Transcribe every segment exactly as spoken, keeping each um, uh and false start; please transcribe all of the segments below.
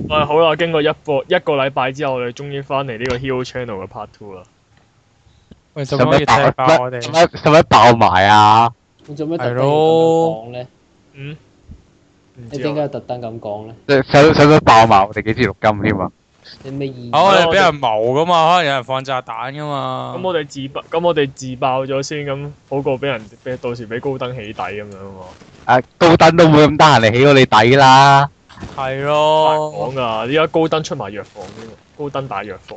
喂，好啦，經過一個一個禮拜之後，我哋終於翻嚟呢個 Hero Channel 嘅 Part Two 啦。 喂，做乜要踢爆我哋？ 使乜使乜爆埋啊？ 你做咩特登要咁講咧？ 嗯？ 你點解特登咁講咧？ 使使使乜爆埋我哋幾次錄音添啊？ 你咩意？ 我哋俾人謀噶嘛，可能有人放炸彈噶嘛。 咁我哋自爆，咁我哋自爆咗先，咁好過俾人俾到時俾高登起底咁樣喎。 誒，高登都冇咁得閒嚟起我哋底啦。 係咯。 講噶，而家高登出埋藥房添喎，高登大藥房。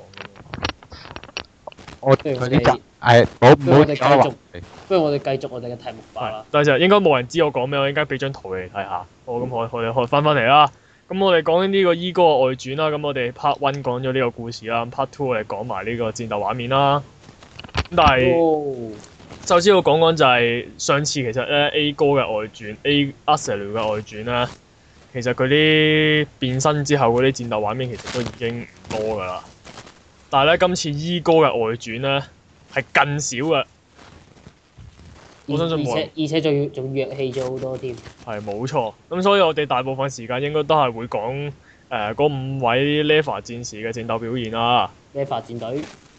我佢呢集係冇冇繼續， 不如我哋繼續我哋嘅題目吧啦。 但係應該冇人知我講咩，我應該俾張圖你睇下。好，咁我我哋開翻翻嚟啦。咁我哋講緊呢個伊哥嘅外傳啦。咁我哋 Part One 講咗呢個故事啦，Part Two 我哋講埋呢個戰鬥畫面啦。咁但係， 哦、 首先我講講就係上次其實咧 A 哥嘅外傳 A Aselu 嘅外傳咧，其實佢啲變身之後嗰啲戰鬥畫面其實都已經唔多㗎啦。但係咧，今次伊哥嘅外傳咧係更少嘅。我相信冇人。 而且而且仲要仲弱氣咗好多添。係冇錯，咁所以我哋大部分時間應該都係會講誒嗰五位 Leva 戰士嘅戰鬥表現啦。 Leva 戰隊。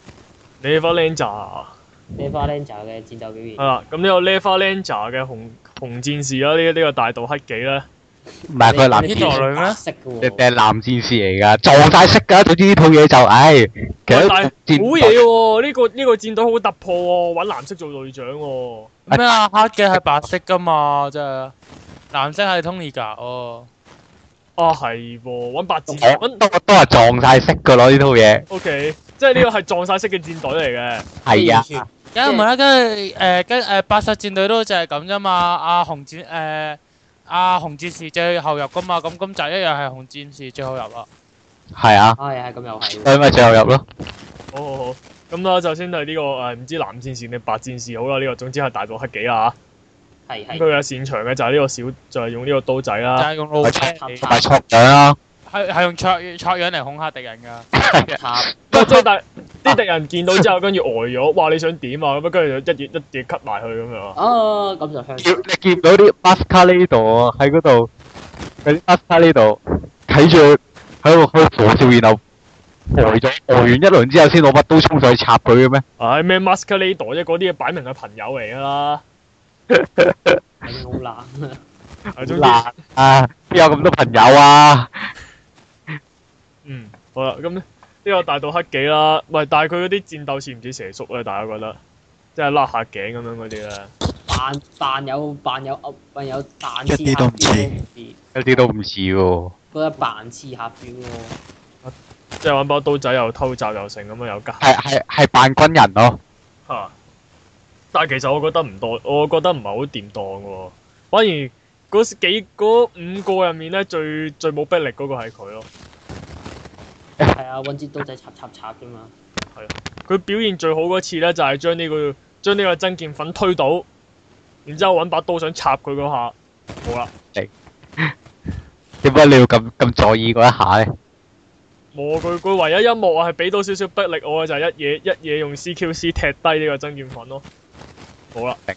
Leva Ranger。 Leva Ranger 嘅戰鬥表現。 係啦，咁呢個 Leva Ranger 嘅紅紅戰士啦，呢、這、呢、個這個大盜黑記咧。 唔係佢係男戰士女咩？ 色嘅喎。定係男戰士嚟㗎，撞曬色㗎。總之呢套嘢就，唉，其實好嘢喎！呢、這個呢、這個戰隊好突破喎，揾藍色做隊長喎。 咩啊？黑嘅係白色㗎嘛，真係。藍色係 Tony 㗎，哦。 啊係喎，揾白戰揾都都係撞曬色㗎咯，呢套嘢。 O K，即係呢個係撞曬色嘅戰隊嚟嘅。 係啊。 梗係唔係啦，跟住誒跟誒白色戰隊都就係咁啫嘛。阿紅戰誒。阿紅戰士最後入噶嘛，咁咁就一樣係紅戰士最後入啦。 係啊。 係係咁又係。 所以咪最後入咯。 好好好，咁啦，首先係呢個誒唔知藍戰士定白戰士好啦，呢個總之係大盜黑幾啦嚇。係係。佢嘅擅長嘅就係呢個小，就係用呢個刀仔啦。 就係用弩槍。 同埋戳樣啦。 係係用戳戳樣嚟恐嚇敵人㗎。 插。 不過即係但啲敵人見到之後，跟住呆咗，哇！你想點啊？咁樣跟住就一嘢一嘢 cut 埋去咁樣。 哦，咁就香。 叫你見到啲 Masquerade 喺嗰度，嗰啲 Masquerade 睇住喺度喺度火笑，然後呆咗呆完一輪之後，先攞把刀衝上去插佢嘅咩？ 唉咩 Masquerade 啫？嗰啲嘢擺明係朋友嚟㗎啦。 好難啊！ 好難啊！邊有咁多朋友啊？ 嗯，好啦，咁咧。呢個大盜黑記啦，喂，但係佢嗰啲戰鬥似唔似蛇叔咧？大家覺得，即係甩下頸咁樣嗰啲咧。 扮扮有扮有噏扮有扮一啲都唔似， 一啲都唔似喎。 覺得扮似下表喎。 即係揾把刀仔又偷襲又成咁樣又加。 係係係扮軍人咯。 嚇、啊！但係其實我覺得唔多，我覺得唔係好掂當嘅喎。反而嗰幾嗰五個入面咧，最最冇逼力嗰個係佢咯。 係啊，揾支刀仔插插插啫嘛。 係啊，佢表現最好嗰次咧，就係將呢個將呢個真劍粉推倒，然之後揾把刀想插佢嗰下，冇啦。 點解你要咁咁在意嗰一下咧？ 冇，佢佢唯一一幕係俾到少少逼力我嘅就係一嘢一嘢用 C Q C 踢低呢個真劍粉咯。冇啦。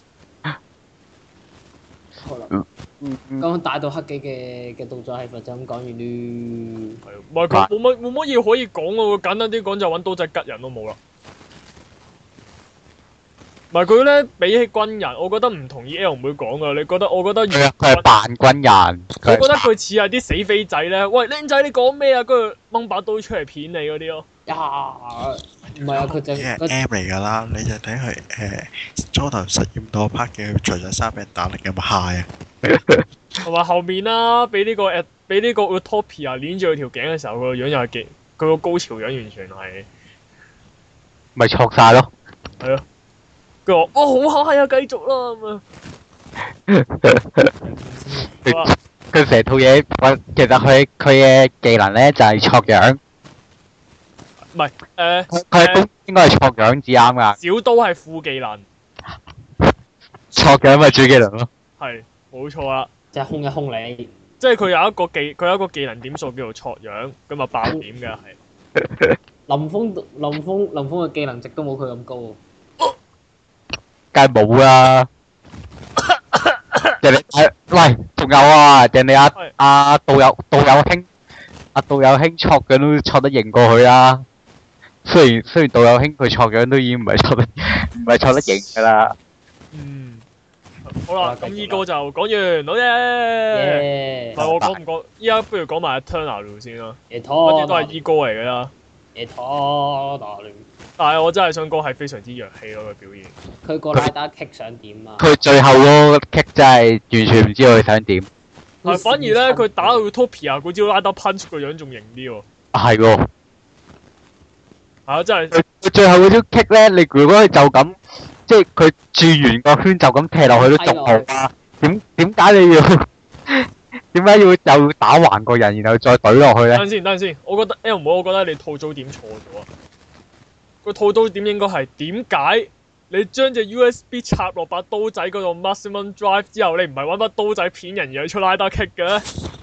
好啦。咁大盜黑記嘅嘅動作係咪就咁講完咧？ 係，唔係佢冇乜冇乜嘢可以講喎。簡單啲講就揾刀仔吉人都冇啦。唔係佢咧比起軍人，我覺得唔同意 L 唔會講噶。你覺得？我覺得佢佢係扮軍人。 我覺得佢似係啲死飛仔咧。喂，僆仔你講咩啊？跟住掹把刀出嚟片你嗰啲咯。 呀，唔係啊，佢就係 M 嚟㗎啦。你就睇佢誒初頭實驗到 part 嘅，除咗衫俾人打力有冇 high 啊？ 同埋後面啦，俾呢、這個誒，俾呢個 Utopia 連住佢條頸嘅時候，個樣又係幾，佢個高潮樣完全係， 咪錯晒咯。 係啊，佢話：哇好嗨啊，繼續啦咁啊！ 佢成套嘢，其實佢佢嘅技能咧就係錯樣。 唔係誒， 佢佢都應該係錯樣至啱㗎。 小刀係副技能， 錯樣咪主技能咯。 係。冇錯啦， 就係控一控你， 即係佢有一個技，佢有一個技能點數叫做挫樣，咁啊爆點嘅係。 林峰林峰林峰嘅技能值都冇佢咁高喎。 梗係冇啦。人哋誒，喂，仲有啊，人哋阿阿道友道友兄， 阿道友兄錯樣都錯得贏過佢啦。雖然雖然道友兄佢錯樣都已經唔係錯得唔係錯得贏噶啦。 嗯，好啦，咁好啦繼續啦依個就講完，好嘢。 耶唔係我講唔講？依家不如講埋 Eternal 先啦， 耶反拖正都係依歌嚟㗎啦。 耶拖打亂， 但係我真係想講係非常之弱氣咯，佢表現。 佢個拉打 kick 想點啊？ 佢最後嗰個 kick 真係完全唔知佢想點。 係反而咧，佢打到 Utopia 嗰招拉得 punch 個樣仲型啲喎。 係喎， 係啊，真係佢佢最後嗰招 kick 咧，你如果佢就咁，即係佢轉完個圈就咁踢落去都仲好啊。點點解你要點解要又打橫個人，然後再懟落去咧？ 等陣先，等陣先。我覺得 L 妹，我覺得你套組點錯咗啊！個套組點應該係點解你將隻 U S B 插落把刀仔嗰度 maximum drive 之後，你唔係揾把刀仔片人而係出拉打 kick 嘅咧？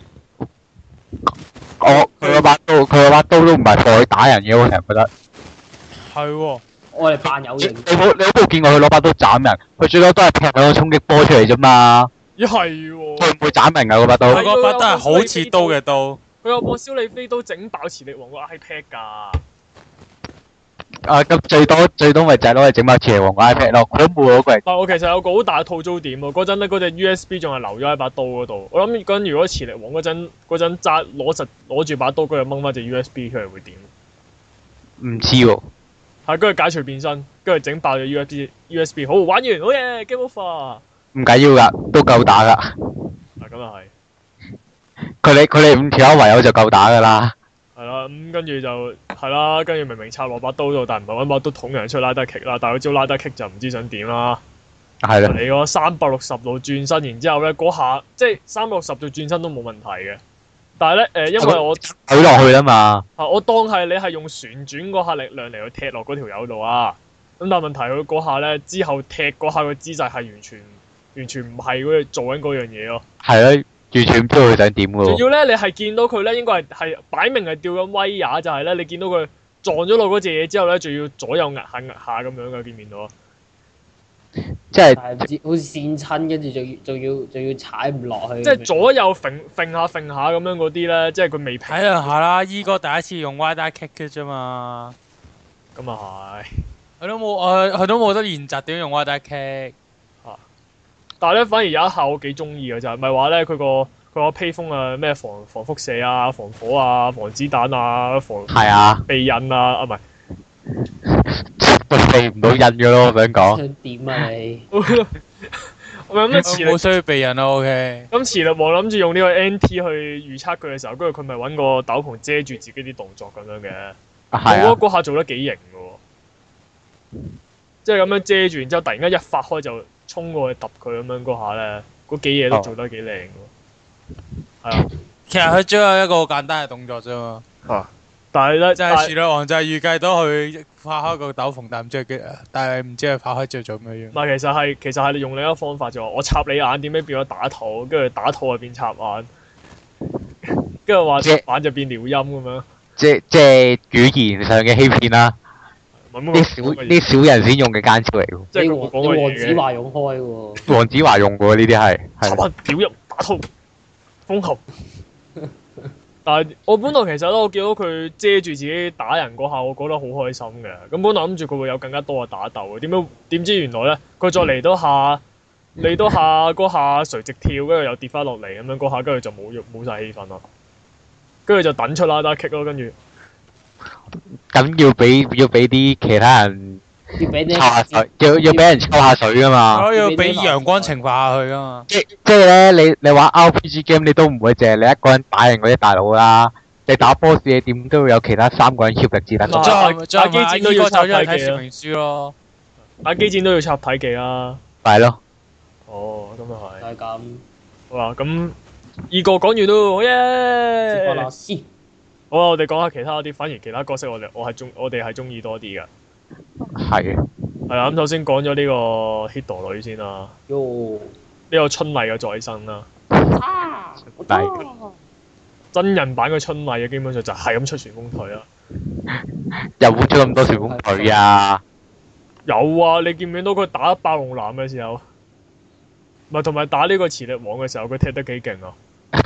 我佢嗰把刀，佢嗰把刀都唔係放去打人嘅，我成日覺得。 係喎， 我哋扮有你型， 冇你有冇見過佢攞把刀斬人？佢最多都係劈兩個衝擊波出嚟啫嘛。 咦係喎， 佢唔會斬人㗎嗰把刀。 佢嗰把都係好似刀嘅刀。 佢有幫燒你飛刀整爆磁力王個 iPad 㗎。 啊咁最多最多咪就係攞嚟整把磁力王個 iPad 咯，佢都冇攞過嚟。 但我其實有個好大嘅套租點喎，嗰陣咧嗰隻 U S B 仲係留咗喺把刀嗰度。我諗嗰陣如果磁力王嗰陣嗰陣揸攞實攞住把刀嗰度掹翻隻 U S B 出嚟會點？ 唔知喎。 係跟住解除變身，跟住整爆隻 U S B U S B，好玩完，好嘢 game over。 唔緊要㗎，都夠打㗎。 啊咁又係。 佢哋佢哋五條友唯有就夠打㗎啦。 係啦，咁跟住就係啦，跟住明明插落把刀度，但唔係揾把刀捅人出拉得 kick 啦，但係佢招拉得 kick 就唔知想點啦。 係啦。 你嗰三百六十度轉身，然之後咧嗰下即係三百六十度轉身都冇問題嘅。但係咧誒，因為我懟落去啦嘛。 啊，我當係你係用旋轉嗰下力量嚟去踢落嗰條友度啊。咁但係問題佢嗰下咧之後踢嗰下個姿勢係完全完全唔係嗰做緊嗰樣嘢咯。 係咯，完全唔知道佢想點㗎喎。 仲要咧，你係見到佢咧，應該係係擺明係吊緊威亞，就係咧，你見到佢撞咗落嗰隻嘢之後咧，仲要左右壓下壓下咁樣嘅，見唔見到啊？ 即係係唔知好似跣親，跟住仲要仲要仲要踩唔落去。 即係左右揈揈下揈下咁樣嗰啲咧，即係佢未平。 睇兩下啦，依哥第一次用 Y 打 kick 嘅啫嘛。 咁啊係。 佢都冇，佢佢都冇得練習點用 Y 打 kick。 但係咧，反而有一下我幾中意嘅就係，咪話咧佢個佢個披風啊，咩防防輻射啊、防火啊、防子彈啊、防係啊， 避印啊，啊唔係。 都避唔到印嘅咯，我想講。 想點啊你？ 我咪咁磁力冇需要避人咯，OK。 咁磁力王諗住用呢個 N T 去預測佢嘅時候，跟住佢咪揾個斗篷遮住自己啲動作咁樣嘅。 係啊。 我覺得嗰下做得幾型嘅喎，即係咁樣遮住，然之後突然間一發開就衝過去揼佢咁樣嗰下咧，嗰幾嘢都做得幾靚嘅喎。係啊。 其實佢只有一個好簡單嘅動作啫嘛。 啊！但係咧， 就係樹女王就係預計到佢發開個斗篷，但唔知佢但係唔知佢發開之後做咩樣。 唔係，其實係其實係你用另一個方法就話，我插你眼點解變咗打肚，跟住打肚就變插眼，跟住話插眼就變撩陰咁樣。 即即係語言上嘅欺騙啦。啲小啲小人先用嘅奸招嚟喎。 即係你佢講嘅黃子嘢。 華用開喎。 黃子華用過呢啲係。 插眼撩陰打肚，封喉。但係我本來其實咧，我見到佢遮住自己打人嗰下，我覺得好開心嘅。咁本來諗住佢會有更加多嘅打鬥嘅，點解點知原來咧，佢再嚟多下嚟多下嗰下垂直跳，跟住又跌翻落嚟咁樣嗰下，跟住就冇冇曬氣氛啦。跟住就等出啦，打 kick 咯，跟住。 咁要俾要俾啲其他人要俾啲抽下水，要要俾人抽下水噶嘛。 我要俾陽光懲罰下佢噶嘛。 即即係咧，你你玩 R P G game 你都唔會淨係你一個人打贏嗰啲大佬啦。你打 boss 你點都會有其他三個人協力至得。 打打機戰都要插體技睇說明書咯。 打機戰都要插體技啦。 係咯。 哦，咁又係。 就係咁。 好啦，咁二個講完都好耶。 接波老師。 好啦，我哋講下其他啲，反而其他角色我哋我係中我哋係中意多啲嘅。 係。 係啊，咁首先講咗呢個 Hito 女先啦。 喲。 呢個春麗嘅再生啦。 啊！ 係。 真人版嘅春麗嘅基本上就係咁出旋風腿啦。 又冇出咁多旋風腿啊！ 有啊，你見唔見到佢打霸龍男嘅時候？唔係同埋打呢個磁力王嘅時候，佢踢得幾勁啊！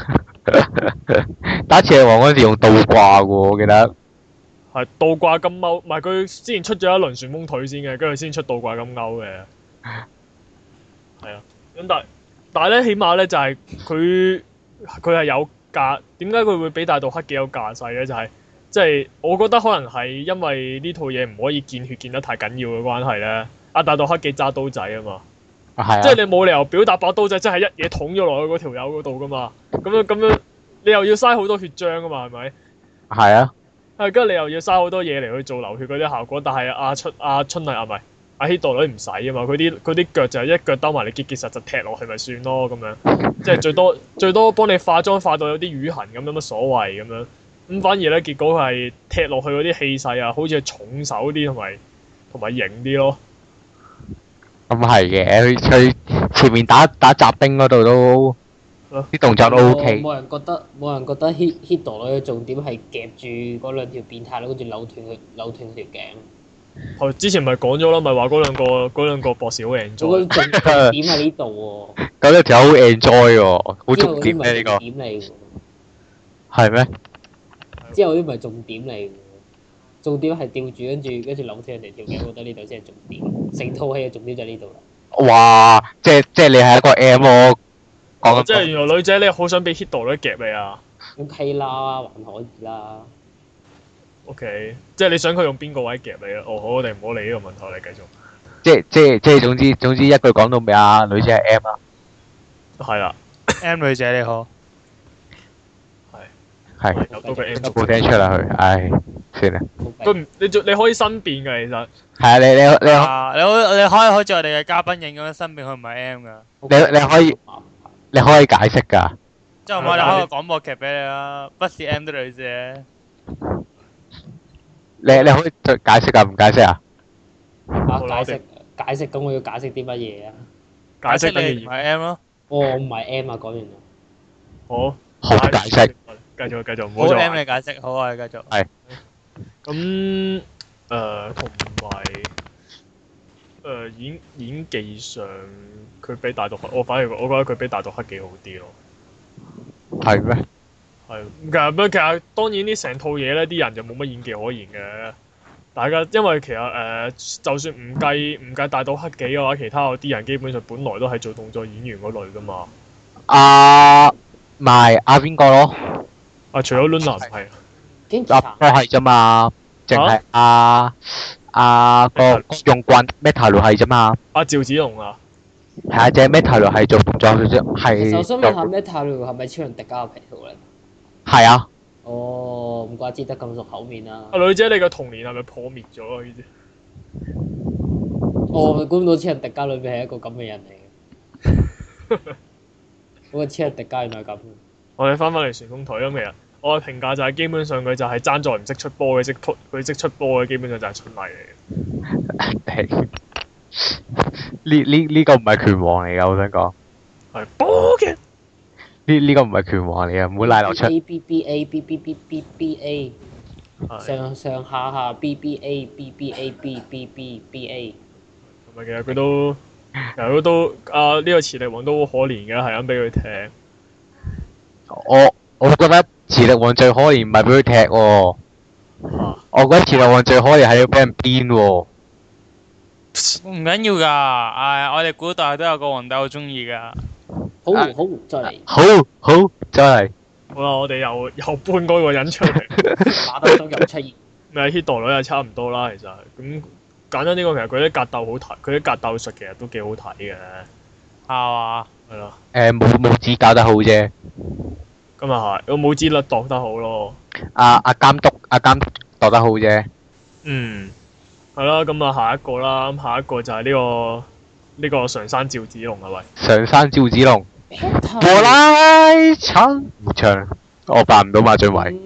打次王嗰陣時用倒掛嘅喎，我記得。 係倒掛金鈎，唔係佢之前出咗一輪旋風腿先嘅，跟住先出倒掛金鈎嘅。係啊，咁但係但係咧，起碼咧就係佢佢係有架，點解佢會比大道黑幾有架勢咧？就係即係我覺得可能係因為呢套嘢唔可以見血見得太緊要嘅關係咧。阿大道黑幾揸刀仔啊嘛， 啊即係你冇理由表達把刀仔真係一嘢捅咗落去嗰條友嗰度噶嘛。咁樣咁樣，你又要嘥好多血漿噶嘛，係咪？ 係啊。 係，跟住你又要嘥好多嘢嚟去做流血嗰啲效果，但係阿春阿春麗啊，唔係阿希度女唔使啊嘛，佢啲佢啲腳就係一腳兜埋你結結實實踢落去咪算咯咁樣，即係最多最多幫你化妝化到有啲瘀痕咁，有乜所謂咁樣？咁反而咧結果係踢落去嗰啲氣勢啊，好似係重手啲同埋同埋型啲咯。 咁係嘅，佢佢前面打打雜兵嗰度都。啲動作都 O K。 冇人覺得冇人覺得 hit hit 到女嘅重點係夾住嗰兩條變態佬，跟住扭斷佢扭斷條頸。 係之前咪講咗啦，咪話嗰兩個嗰兩個博士好 enjoy。 我覺得重點喺呢度喎。 咁呢條好 enjoy 喎，好重點咧呢個。 點嚟喎？ 係咩？ 之後啲唔係重點嚟喎，重點係吊住跟住跟住扭斷人哋條頸，我覺得呢度先係重點。成套戲嘅重點就喺呢度啦。 哇！即係即係你係一個 M 喎。 哦，即係原來女仔你好想俾 hit 到女夾你啊 ？O K 啦，還可以啦。 O、okay, K， 即係你想佢用邊個位夾你啊？哦，好，我哋唔好理呢個問題，我哋繼續。 即係即係即係總之總之一句講到尾啊，女仔係 M 啊。 係啦。 M 女仔你好。 係。係。 有多個 M 都冇聽出啦佢，唉，算啦。 佢唔，你你可以申辯㗎，其實。 係啊，你你你。 啊！你好，你可以好似我哋嘅嘉賓影咁樣申辯，佢唔係 M 㗎。 你你可以。你可以解釋㗎。 即係我哋開個廣播劇俾你啦，不是 M 的女仔。 你你可以再解釋㗎，唔解釋啊？ 啊！解釋解釋，咁我要解釋啲乜嘢啊？ 解釋你唔係 M 咯。 哦，我唔係 M 啊，講完啦。 好。好解釋。 繼續繼續，唔好再。 好 M 你解釋，好啊，你繼續。 係。 咁誒，同埋誒演演技上。佢比大毒黑，我反而我覺得佢比大毒黑幾好啲咯。 係咩？ 係，其實咩？其實當然呢成套嘢咧，啲人就冇乜演技可言嘅。大家因為其實誒、呃，就算唔計唔計大毒黑幾嘅話，其他嗰啲人基本上本來都係做動作演員嗰類噶嘛。 啊，唔係阿邊個咯？ 啊，除咗 Luna 唔係。 啊，都係啫嘛，淨係阿阿個用棍 Metal 係啫嘛。阿趙子龍啊。 係啊，隻 Metal 係做動作嘅啫，係。 我想問下 Metal 係咪超人迪迦嘅皮套嚟？ 係啊。 哦，唔怪之得咁熟口面啦。 阿女仔，你嘅童年係咪破滅咗啊？呢啲？ 我估唔到超人迪迦裏面係一個咁嘅人嚟嘅。嗰個超人迪迦原來係咁。 我哋翻返嚟旋風腿咁，其實我嘅評價就係基本上佢就係爭在唔識出波嘅，識突佢識出波嘅，基本上就係春麗嚟嘅。 呢呢呢個唔係拳王嚟噶，我想講。 係波嘅。 呢呢個唔係拳王嚟噶，唔好拉流出。 A B B A B B B B B A。上上下下 B B A B B A B B B B A。 同埋其實佢都，其實佢都啊呢個磁力王都好可憐嘅，係咁俾佢踢。 我我覺得磁力王最可憐唔係俾佢踢喎。我覺得磁力王最可憐係要俾人鞭喎。 唔緊要㗎，誒，我哋古代都有個皇帝好中意㗎。 好好，再嚟。 好好，再嚟。 好啦，我哋又又搬多個人出嚟。 打得中又出現。 咪 Hito 女又差唔多啦，其實咁簡單啲講，其實佢啲格鬥好睇，佢啲格鬥術其實都幾好睇嘅。 係嘛？ 係咯。 誒，冇冇指教得好啫。 咁又係，個拇指率度得好咯。 阿阿監督，阿監督度得好啫。 嗯。係啦，咁啊下一個啦，咁下一個就係呢個呢個上山趙子龍啊喂。 上山趙子龍。我來唱。唔唱，我扮唔到馬俊偉。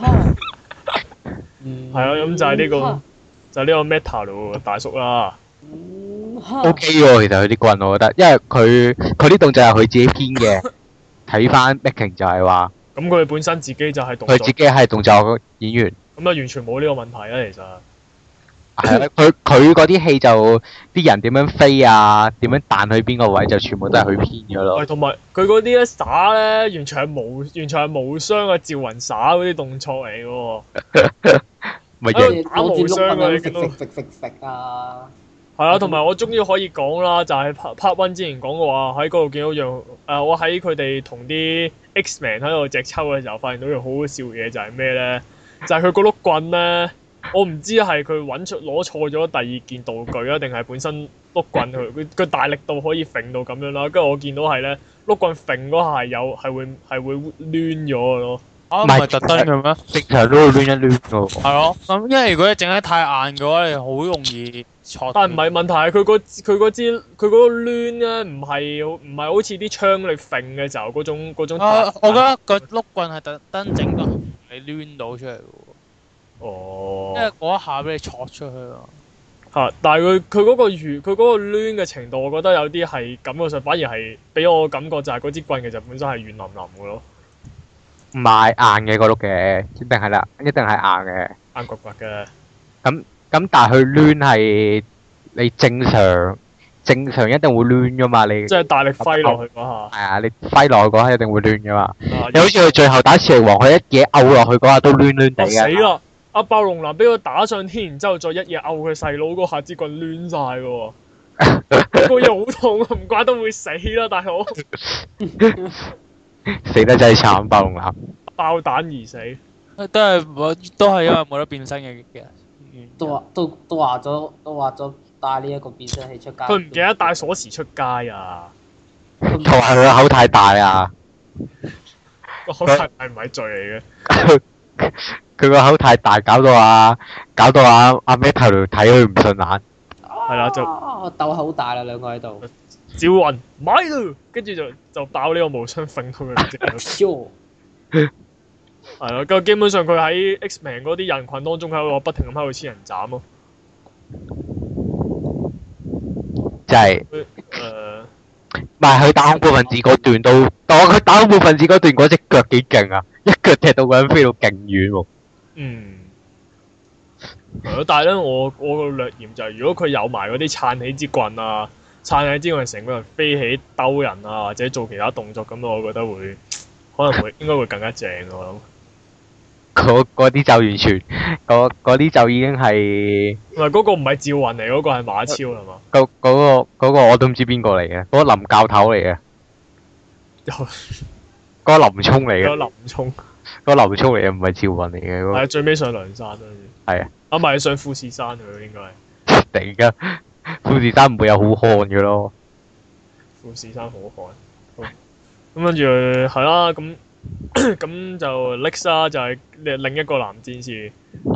係啊，咁就係呢個就係呢個 Metal 大叔啦。 O K 喎，其實佢啲棍我覺得，因為佢佢啲動作係佢自己編嘅。睇翻 Making 就係話。 咁佢本身自己就係動作。 佢自己係動作演員。 咁啊，完全冇呢個問題啊，其實。 係啊，佢佢嗰啲戲就啲人點樣飛啊，點樣彈去邊個位就全部都係佢編咗咯。 喂，同埋佢嗰啲咧耍咧，完全係無完全係無雙嘅趙雲耍嗰啲動作嚟嘅喎。 咪喺型度打無雙啊！你見到食食食食啊！ 係啊，同埋我終於可以講啦，就係 part part one 之前講嘅話，喺嗰度見到樣誒，我喺佢哋同啲 X-Men 喺度隻抽嘅時候，發現到樣好好笑嘅嘢就係咩咧？就係佢個碌棍咧，我唔知係佢揾出攞錯咗第二件道具啊，定係本身碌棍佢佢佢大力度可以揈到咁樣啦。跟住我見到係咧，碌棍揈嗰下係有係會係會攣咗嘅咯。 啊，唔係特登嘅咩？ 正常都會攣一攣㗎。 係咯，咁因為如果你整得太硬嘅話，你好容易錯。 但係唔係問題係佢個佢嗰支佢嗰個攣咧，唔係唔係好似啲槍你揈嘅時候嗰種嗰種。 啊，我覺得個碌棍係特登整到你攣到出嚟嘅喎。 哦。 因為嗰一下俾你錯出去啊。 嚇！但係佢佢嗰個圓佢嗰個攣嘅程度，我覺得有啲係感覺上反而係俾我感覺就係嗰支棍其實本身係軟腍腍嘅咯。 唔係硬嘅嗰碌嘅，一定係啦，一定係硬嘅。 硬骨骨嘅。 咁咁，但係佢攣係你正常正常一定會攣噶嘛，你即係大力揮落去嗰下。 係啊，你揮落去嗰下一定會攣噶嘛。 啊你好似佢最後打磁力王，佢一嘢毆落去嗰下都攣攣地啊死嘅。 啦！阿暴龍男俾佢打上天，然之後再一嘢毆佢細佬嗰下支棍攣晒嘅喎。個嘢好痛啊！唔怪得會死啦，大佬。 死得真係慘，暴龍男。 爆彈而死。 都係冇，都係因為冇得變身嘅嘅。 都話都都話咗都話咗帶呢一個變身器出街。 佢唔記得帶鎖匙出街啊！ 同埋佢個口太大啊！ 個口太大唔係罪嚟嘅。 佢個口太大，搞到啊，搞到啊阿 Metal 睇佢唔順眼。 係啦，就鬥口大啦，兩個喺度。 趙雲買啦，跟住就就爆呢個無雙揈到佢隻手。係咯，咁基本上佢喺 X-Men 嗰啲人群當中喺度不停咁喺度黐人斬咯。 就係誒。 唔係佢打恐怖分子嗰段都，但我佢打恐怖分子嗰段嗰隻腳幾勁啊！一腳踢到個人飛到勁遠喎。 嗯。係咯，但係咧，我我個略嫌就係，如果佢有埋嗰啲撐起支棍啊，撐起支棍成個人飛起兜人啊，或者做其他動作咁，我覺得會可能會應該會更加正我諗。 嗰嗰啲就完全，嗰嗰啲就已經係。 唔係嗰個唔係趙雲嚟，嗰個係馬超係嘛？ 嗰嗰個嗰個我都唔知邊個嚟嘅，嗰個林教頭嚟嘅。 有嗰個林聰嚟嘅。 有林聰。 嗰個林聰嚟嘅，唔係趙雲嚟嘅。 係最尾上梁山啦。 係啊。 啊，唔係上富士山佢應該係。 突然間，富士山唔會有好漢嘅咯。 富士山好漢。咁跟住係啦，咁。咁就 Lex 啦，就係另一個男戰士。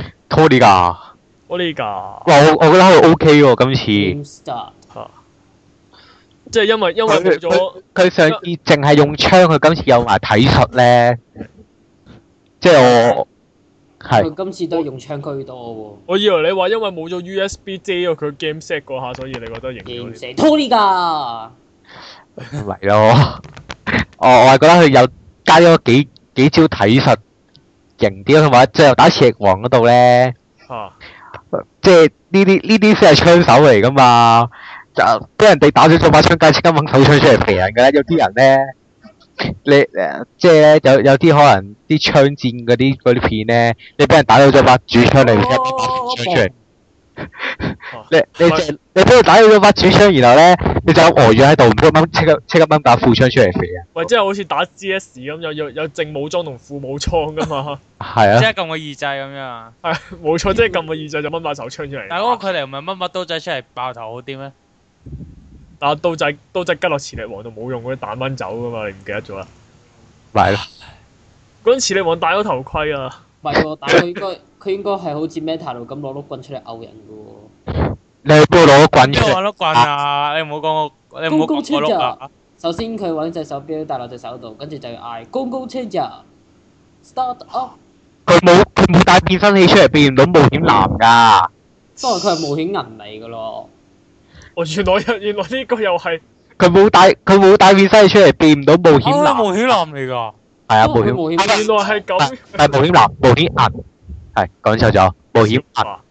Toliga。 Toliga。 哇！我我覺得佢 OK 喎，今次。 嚇！即係因為因為冇咗佢上次淨係用槍，佢今次有埋體術咧。即係我係。 佢今次都係用槍居多喎。 我以為你話因為冇咗 U S B 遮咗佢 game set 嗰下，所以你覺得型咗啲。 Toliga。 唔係咯，我我係覺得佢有。加咗幾幾招體術型啲，同埋最後打磁力王嗰度咧， 啊、 即係呢啲呢啲先係槍手嚟噶嘛，就俾人哋打咗咗把槍，梗係即刻掹手槍出嚟肥人噶啦。有啲人咧，你誒即係咧有有啲可能啲槍戰嗰啲嗰啲片咧，你俾人打咗咗把主槍嚟，即刻掹把副槍出嚟。你你就你俾佢打咗把主槍，然後咧你就呆咗喺度，唔該掹即刻即刻掹把副槍出嚟肥啊！ 喂，即係好似打 C S 咁，有有有正武裝同副武裝噶嘛？ 係啊， 即係撳個二掣咁樣。 係冇錯，即係撳個二掣就掹把手槍出嚟。 但係嗰個距離唔係掹把刀仔出嚟爆頭好啲咩？ 但係刀仔刀仔吉落磁力王度冇用，嗰啲彈蚊走噶嘛？你唔記得咗啦？ 咪咯， 嗰陣磁力王戴咗頭盔啊！ 唔係喎，但係佢應該佢應該係好似 Metal 咁攞碌棍出嚟毆人嘅喎。 你去邊度攞棍出嚟？ 邊個攞碌棍啊？你唔好講我，你唔好講我碌啊！ 首先佢揾隻手錶戴落隻手度，跟住就要嗌 Go Go Changer，Start Up。 佢冇佢冇帶變身器出嚟，變唔到冒險男㗎。 不過佢係冒險銀嚟㗎咯。 哦，原來原來呢個又係佢冇帶佢冇帶變身器出嚟，變唔到冒險男。 冒險男嚟㗎。 係啊，冒險。 原來係咁。 係冒險男，冒險銀。係講錯咗，冒險銀。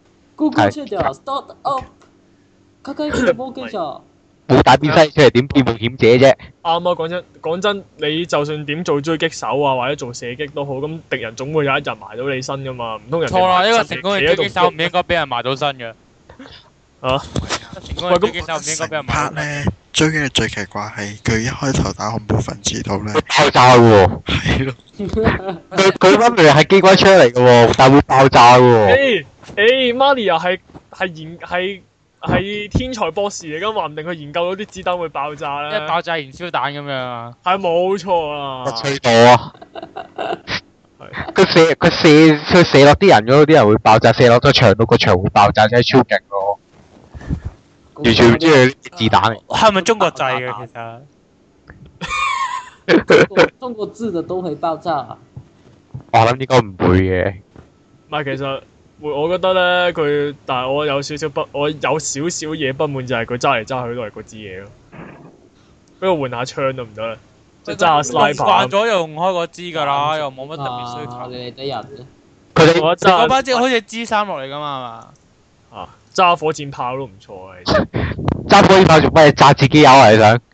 Google Trader start up，卡卡嘅冇記錯。 冇帶邊西出嚟點變冒險者啫？ 啱啊！講真講真，你就算點做狙擊手啊，或者做射擊都好，咁敵人總會有一日埋到你身噶嘛，唔通人哋錯啦！呢個埋身成功嘅狙擊手唔應該俾人埋到身嘅。 啊！ 成功嘅狙擊手唔應該俾人埋到身。 咧追嘅最奇怪係佢一開頭打恐怖分子度咧， 爆炸喎！ 係咯， 佢佢分明係機關槍嚟嘅喎，但會爆炸嘅喎。 誒誒，Maria 係係研係係天才博士嚟噶，話唔定佢研究到啲子彈會爆炸咧。 一爆炸燃燒彈咁樣啊！ 係冇錯啊！ 吹到啊！佢射佢射佢射落啲人嗰度，啲人會爆炸；射落咗牆度，個牆會爆炸，真係超勁咯！完全唔知佢啲子彈嚟。 係咪中國製嘅其實？ 中國中國製嘅都會爆炸。 我諗應該唔會嘅。 唔係，其實會我覺得咧，佢但係我有少少不，我有少少嘢不滿就係佢揸嚟揸去都係嗰支嘢咯。俾我換下槍得唔得咧？即係揸下 sniper。 慣咗又用開嗰支㗎啦，又冇乜特別需求。 你哋啲人佢哋我你嗰班揸即好似 G 三落嚟㗎嘛係嘛？ 啊揸火箭炮都唔錯啊！其實揸火箭炮做咩？炸自己友啊！你想？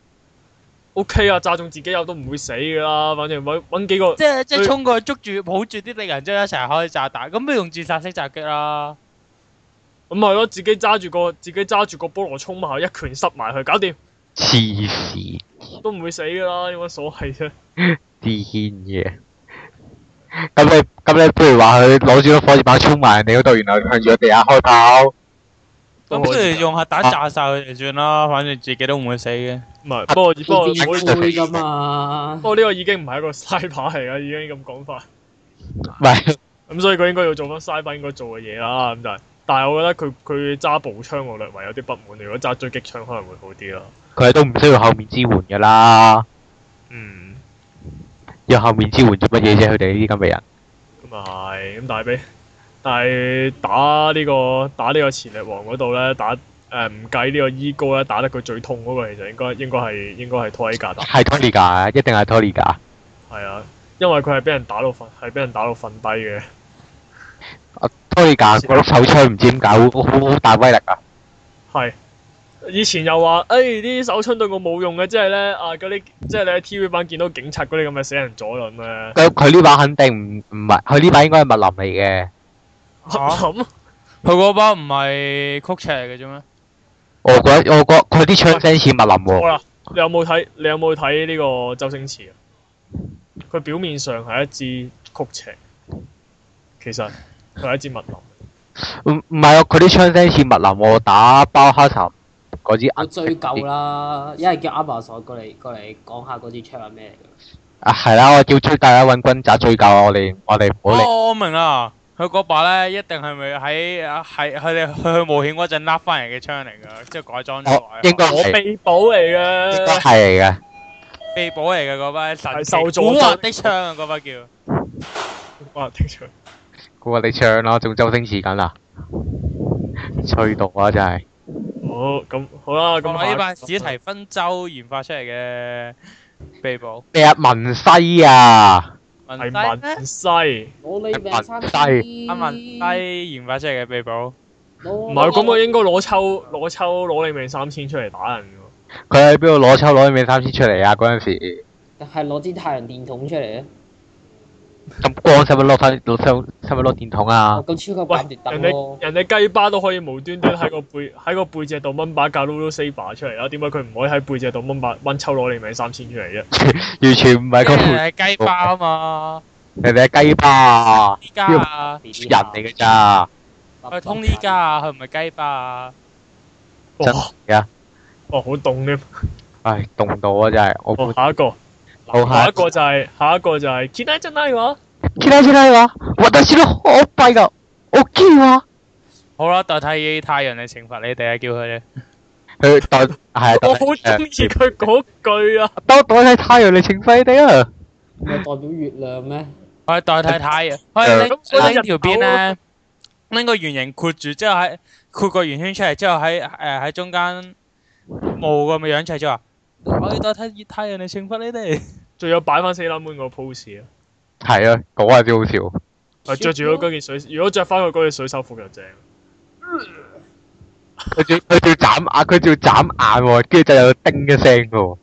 O K 啊，炸中自己有都唔會死㗎啦，反正揾揾幾個。 即係即係衝過去捉住抱住啲敵人，之後一齊開炸彈，咁不如用自殺式襲擊啦。 咁係咯，自己揸住個自己揸住個菠蘿衝埋去，一拳塞埋去，搞掂。 黐線！ 都唔會死㗎啦，有乜所謂啫？ 癲嘅。咁你咁你不如話佢攞住個火箭炮衝埋人哋嗰度，然後向住個地下開炮。 咁不如用核彈炸晒佢哋算啦，反正自己都唔會死嘅。 唔係，不過不過會會㗎嘛。 不過呢個已經唔係一個 sniper 嚟㗎，已經咁講法。 唔係， 咁所以佢應該要做翻 sniper 應該做嘅嘢啦。咁就係，但係我覺得佢佢揸步槍我略為有啲不滿。如果揸狙擊槍可能會好啲咯。 佢都唔需要後面支援㗎啦。 嗯。 要後面支援做乜嘢啫？佢哋呢啲咁嘅人。 咁啊係，咁但係俾但係打呢個打呢個潛力王嗰度咧，打誒唔計呢個伊高咧，打得佢最痛嗰個其實應該應該係應該係托尼格打。 係 Tony 㗎，一定係 Tony 㗎。 係啊，因為佢係俾人打到瞓，係俾人打到瞓低嘅。 啊 Tony 㗎，嗰碌手槍唔知點解好好好大威力啊！ 係。以前又話，誒呢啲手槍對我冇用嘅，即係咧啊嗰啲，即係你喺 T V 版見到警察嗰啲咁嘅死人左輪咧。 佢佢呢把肯定唔唔係，佢呢把應該係密林嚟嘅。 咁佢嗰把唔係曲尺嚟嘅啫咩？ 我覺得我覺得佢啲槍聲似密林喎。 好啦，你有冇睇？你有冇睇呢個周星馳啊？佢表面上係一支曲尺，其實佢係一支密林。 唔唔係啊！佢啲槍聲似密林喎，打包哈查嗰支我追究啦，一係叫 Amazon 過嚟過嚟講下嗰支槍係咩嚟㗎？ 啊係啦，我叫追大家揾軍宅追究啊！我哋我哋唔好理。 哦，我明啦，佢嗰把咧一定係咪喺喺佢哋去去冒險嗰陣笠翻嚟嘅槍嚟㗎，即係改裝咗哦應該我係秘寶嚟應該嘅， 係嚟嘅。 秘寶嚟嘅嗰把神奇係受助古惑的槍啊，嗰把叫。 哇！聽出估下你唱啦，仲周星馳緊啊！吹到啊，真係。 好咁好啦，咁咁呢把下史提芬州研發出嚟嘅秘寶。 咩啊？文西啊！ 文係西咩文西， 我你命三低阿文西研發出嚟嘅秘寶。 唔係咁，我應該攞抽攞抽攞你命三千出嚟打人㗎。 佢喺邊度攞抽攞啲咩三千出嚟啊？嗰陣時係攞支太陽電筒出嚟啊！ 咁光使乜攞翻攞抽使乜攞電筒啊哦？咁超級喂版奪， 人燈咯哋！人哋雞巴都可以無端端喺個背喺個背脊度掹把架 Lulu Saber 出嚟啦，點解佢唔可以喺背脊度掹把掹抽攞你命三千出嚟啫？ 完全唔係因個為係雞巴啊嘛， 人哋係雞巴啊！ 依家啊， 人嚟嘅咋？ 佢通呢家啊，佢唔係雞巴啊。 真哇！ 係啊！ 哇！好凍添。 唉，凍到啊！真係我好，下一個， 好下一個就係下一個就係 Kita 真係話。 見到見到話，私のおっぱいが大きいわ。 好啦，代替太陽嚟懲罰你哋啊，叫佢哋。 佢代係啊， 我好中意佢嗰句啊！ 當代替太陽嚟懲罰你哋啊！ 唔係代表月亮咩？ 我係代替太陽，我係拎拎條邊咧，拎個圓形括住，之後喺括個圓圈出嚟，之後喺誒喺中間霧咁嘅樣出嚟，之後話我要代替太陽嚟懲罰你哋。 仲有擺翻四粒妹個 pose 啊！ 係啊，嗰下先好笑。 係着住嗰嗰件水，如果着翻佢嗰件水手服就正。 佢仲佢仲眨眼，佢仲眨眼喎，跟住就有叮一聲嘅喎。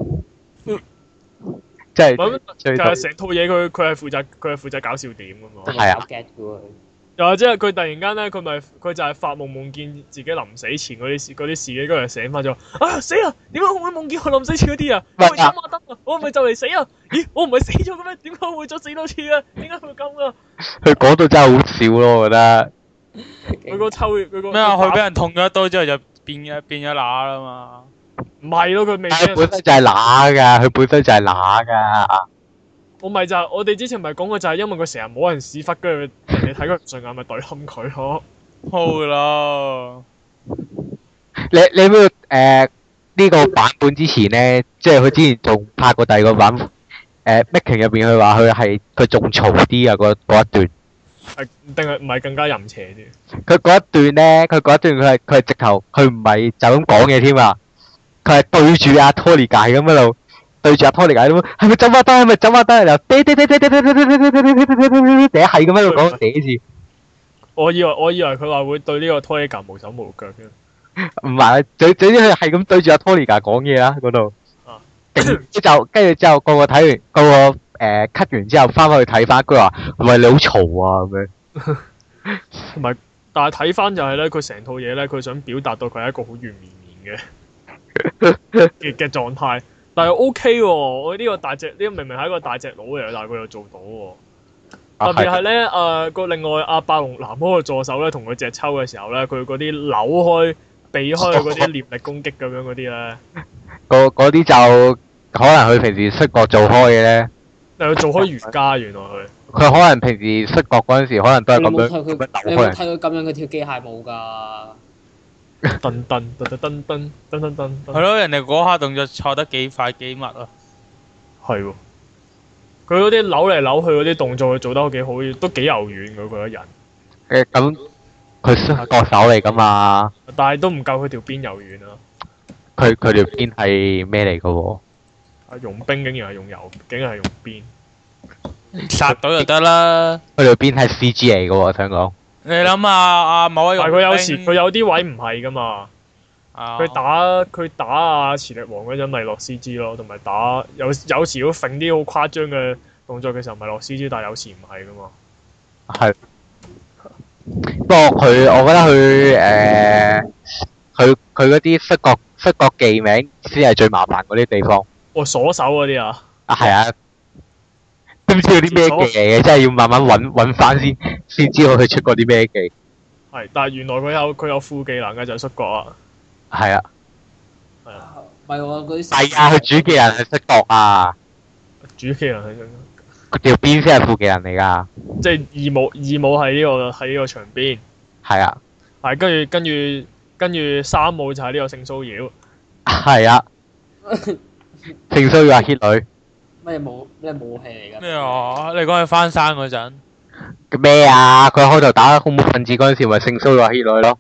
即係咁最其實成套嘢佢佢係負責佢係負責搞笑點㗎嘛。 係啊 get 嘅喎。 又或者係佢突然間咧，佢咪佢就係發夢夢見自己臨死前嗰啲事嗰啲事嘅，跟住醒翻咗。啊死啊！點解我會夢見佢臨死前嗰啲啊？我係走馬燈啊！我係咪就嚟死啊？咦！我唔係死咗嘅咩？點解我會再死多次啊？點解會咁啊？ 佢講到真係好笑咯，我覺得。 佢個抽佢個咩啊？佢俾人捅咗一刀之後就變咗變咗乸啦嘛。 唔係咯，佢未俾佢人本身就係乸㗎，佢本身就係乸㗎。 我咪就係、我哋之前咪講過，就係因為佢成日冇人屎忽，跟住人哋睇佢唔順眼，咪懟冧佢咯。 好啦， 你你知唔知誒呢個版本之前咧，即係佢之前仲拍過第二個版誒 making 入邊，佢話佢係佢仲嘈啲啊嗰嗰一段。 係定係唔係更加淫邪啲？ 佢嗰一段咧，佢嗰一段佢係佢係直頭，佢唔係就咁講嘢添啊！佢係對住阿 Tony 咁喺度，對住阿 Tony 咁，係咪走馬燈？係咪走馬燈？又嗲嗲嗲嗲嗲嗲嗲嗲嗲嗲嗲嗲嗲係咁喺度講嗲字。 我以為我以為佢話會對呢個 Tony 無手無腳嘅。 唔係，最最啲佢係咁對住阿 Tony 講嘢啦嗰度。 啊！ 跟住就跟住之後，個個睇完個個誒 cut 完之後，翻返去睇翻，佢話唔係你好嘈啊咁樣。 同埋，但係睇翻就係咧，佢成套嘢咧，佢想表達到佢係一個好軟綿綿嘅嘅嘅狀態，但係 O K 喎。我呢個大隻，呢、呢個明明係一個大隻佬嚟，但係佢又做到喎。特別係咧，誒個、呃、另外阿霸龍男嗰個助手咧，同佢隻抽嘅時候咧，佢嗰啲扭開、避開嗰啲念力攻擊咁樣嗰啲咧， 嗰嗰啲就可能佢平時摔角做開嘅咧。 但係佢做開瑜伽，原來佢。 佢可能平時摔角嗰陣時，可能都係咁樣咁樣你扭開。 有冇睇佢咁樣佢跳機械舞㗎？ 噔噔噔噔噔噔噔噔噔。 係咯，人哋嗰下動作錯得幾快幾密啊！ 係喎。佢嗰啲扭嚟扭去嗰啲動作，佢做得幾好，都幾柔軟嘅嗰個人。 誒咁，佢摔角手嚟㗎嘛？ 但係都唔夠佢條邊柔軟啊！ 佢佢條邊係咩嚟㗎喎？ 啊，用冰竟然係用油，竟然係用邊。 殺到就得啦。 佢條邊係 C G 嚟㗎喎，我想講。 你諗下啊，某位但係佢有時佢有啲位唔係㗎嘛。佢、 啊、 打佢打啊磁力王嗰陣咪落 C G 咯，同埋打有有時都揈啲好誇張嘅動作嘅時候咪落 C G，但係有時唔係㗎嘛。 係。不過佢，我覺得佢誒，佢佢嗰啲摔角摔角技名先係最麻煩嗰啲地方。 哦，鎖手嗰啲啊！ 啊，係啊。都唔知有啲咩技嚟嘅，真係要慢慢揾揾翻先，先知道佢出過啲咩技。 係，但係原來佢有佢有副技能嘅就係摔角啊！ 係啊， 係啊， 唔係喎，嗰啲係啊，佢主技能係摔角啊， 主技能係佢條邊先係副技能嚟㗎。 即係二武二武喺呢個喺呢個場邊。 係啊， 係跟住跟住跟住三武就係呢個性騷擾。 係啊，性騷擾阿 hit 女。 咩武咩武器嚟㗎？ 咩啊？你講佢翻山嗰陣咩啊？佢開頭打恐怖分子嗰陣時，咪性騷擾阿 hit 女咯。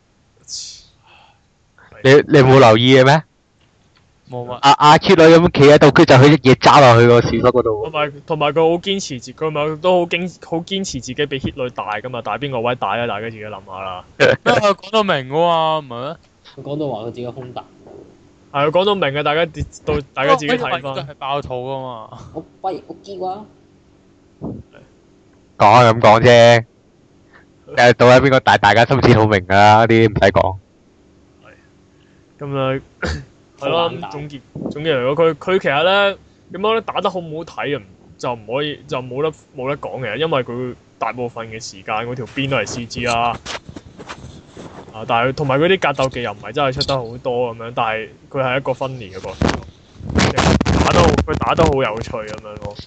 你你冇留意嘅咩？ 冇乜。 阿阿 hit 女咁企喺度，佢就佢一嘢揸落去個屎忽嗰度同。埋同埋佢好堅持自，佢咪都好堅好堅持自己比 hit 女大㗎嘛？大邊個位大啊？大家自己諗下啦。 咩佢講到明㗎嘛？唔係咩？ 佢講到話佢自己胸大。 係，講到明嘅，大家到大家自己睇翻。 呢個係爆肚㗎嘛？ 我喂我知啩。 講係咁講啫。誒，到底邊個大？大家心知肚明㗎啦，呢啲唔使講。 咁啊，係咯。總結總結嚟講，佢佢其實咧點講咧，打得好唔好睇啊？就唔可以就冇得冇得講嘅，因為佢大部分嘅時間嗰條邊都係 C G 啦。啊！但係同埋嗰啲格鬥技又唔係真係出得好多咁樣，但係佢係一個分離嘅角色，打得好佢打得好有趣咁樣咯。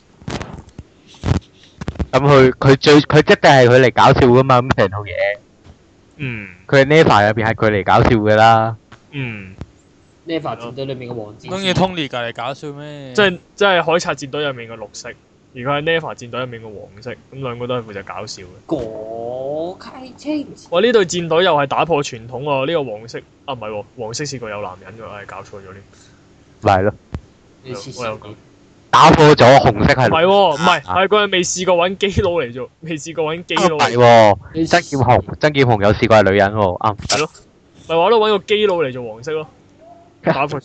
咁佢佢最佢一定係佢嚟搞笑㗎嘛？咁成套嘢。 嗯。 佢係 Neva 入邊係佢嚟搞笑㗎啦。 嗯。 Neva 戰隊裏面嘅王子。 中意 Tony 隔嚟搞笑咩？ 即係即係海賊戰隊入面嘅綠色，而佢係 Neva 戰隊入面嘅黃色，咁兩個都係負責搞笑嘅。 果溪清。 哇！呢隊戰隊又係打破傳統喎，呢、這個黃色啊唔係喎，黃色試過有男人㗎，係搞錯咗呢。 咪係咯。 你黐我有講。 線打破咗紅色係唔係喎，唔係係佢係未試過揾基佬嚟做，未試過揾基佬唔嚟係喎，曾劍雄曾劍雄有試過係女人喎，啱係咯，咪話咯揾個基佬嚟做黃色咯，打破